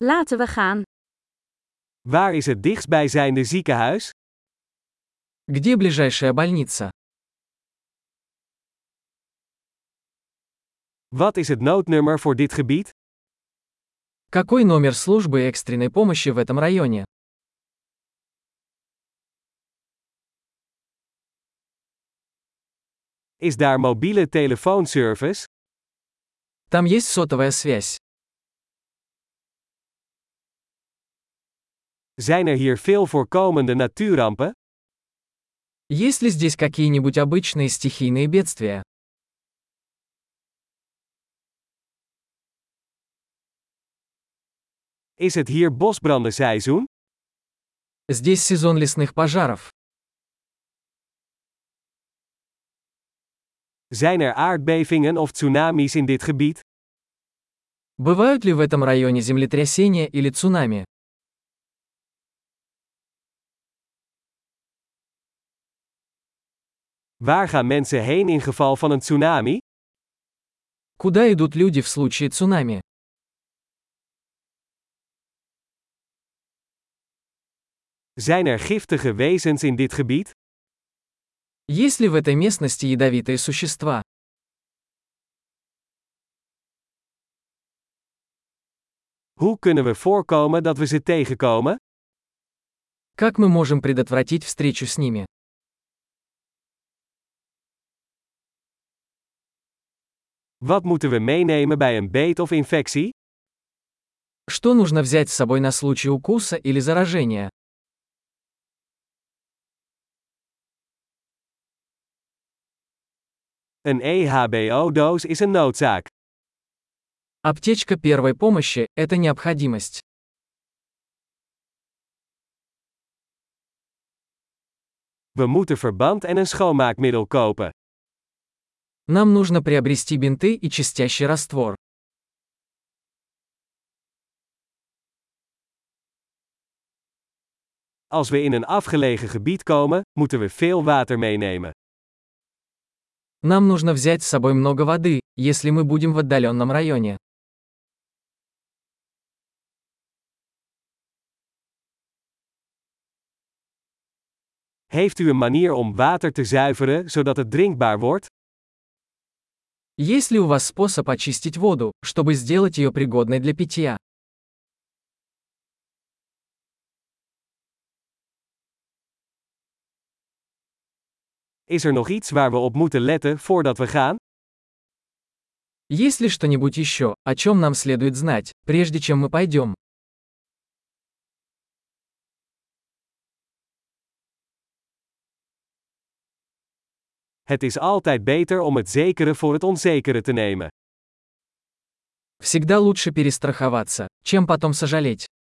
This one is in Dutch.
Laten we gaan. Waar is het dichtstbijzijnde ziekenhuis? Где ближайшая больница? Wat is het noodnummer voor dit gebied? Какой номер службы экстренной помощи в этом районе? Is daar mobiele telefoonservice? Там есть сотовая связь. Zijn er hier veel voorkomende natuurrampen? Есть ли здесь какие-нибудь обычные стихийные бедствия? Is het hier bosbrandenseizoen? Здесь сезон лесных пожаров. Zijn er aardbevingen of tsunamis in dit gebied? Бывают ли в этом районе землетрясения или цунами? Waar gaan mensen heen in geval van een tsunami? Куда идут люди в случае цунами? Zijn er giftige wezens in dit gebied? Есть ли в этой местности ядовитые существа? Hoe kunnen we voorkomen dat we ze tegenkomen? Как мы можем предотвратить встречу с ними? Wat moeten we meenemen bij een beet of infectie? Что нужно взять с собой на случай укуса или заражения? Een EHBO-doos is een noodzaak. Аптечка первой помощи – это необходимость. We moeten verband en een schoonmaakmiddel kopen. Нам нужно приобрести бинты и чистящий раствор. Als we in een afgelegen gebied komen, moeten we veel water meenemen. Нам нужно взять с собой много воды, если мы будем в отдаленном районе. Heeft u een manier om water te zuiveren zodat het drinkbaar wordt? Есть ли у вас способ очистить воду, чтобы сделать ее пригодной для питья? Is er nog iets waar we op moeten letten voordat we gaan? Есть ли что-нибудь еще, о чем нам следует знать, прежде чем мы пойдем? Het is altijd beter om het zekere voor het onzekere te nemen. Всегда лучше перестраховаться, чем потом сожалеть.